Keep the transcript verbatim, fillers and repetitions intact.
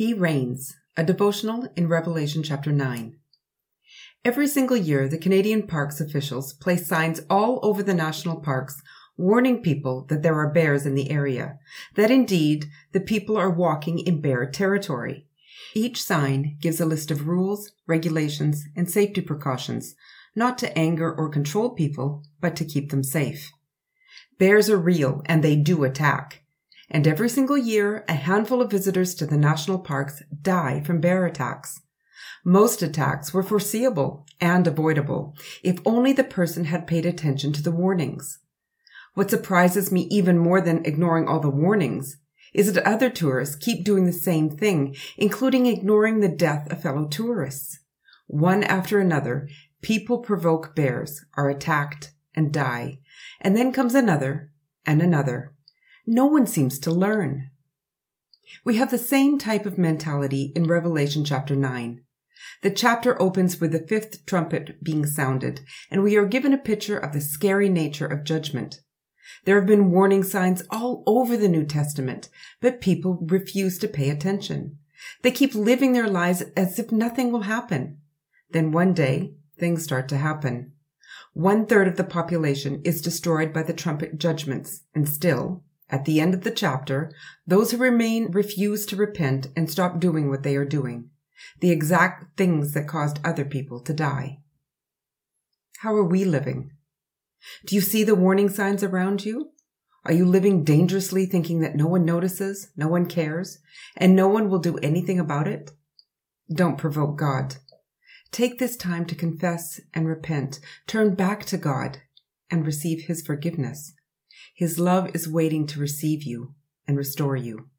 He Reigns, a devotional in Revelation chapter nine. Every single year, the Canadian Parks officials place signs all over the national parks warning people that there are bears in the area, that indeed the people are walking in bear territory. Each sign gives a list of rules, regulations, and safety precautions, not to anger or control people, but to keep them safe. Bears are real and they do attack. And every single year, a handful of visitors to the national parks die from bear attacks. Most attacks were foreseeable and avoidable, if only the person had paid attention to the warnings. What surprises me even more than ignoring all the warnings is that other tourists keep doing the same thing, including ignoring the death of fellow tourists. One after another, people provoke bears, are attacked, and die. And then comes another and another. No one seems to learn. We have the same type of mentality in Revelation chapter nine. The chapter opens with the fifth trumpet being sounded, and we are given a picture of the scary nature of judgment. There have been warning signs all over the New Testament, but people refuse to pay attention. They keep living their lives as if nothing will happen. Then one day, things start to happen. One third of the population is destroyed by the trumpet judgments, and still, at the end of the chapter, those who remain refuse to repent and stop doing what they are doing, the exact things that caused other people to die. How are we living? Do you see the warning signs around you? Are you living dangerously, thinking that no one notices, no one cares, and no one will do anything about it? Don't provoke God. Take this time to confess and repent, turn back to God, and receive His forgiveness. His love is waiting to receive you and restore you.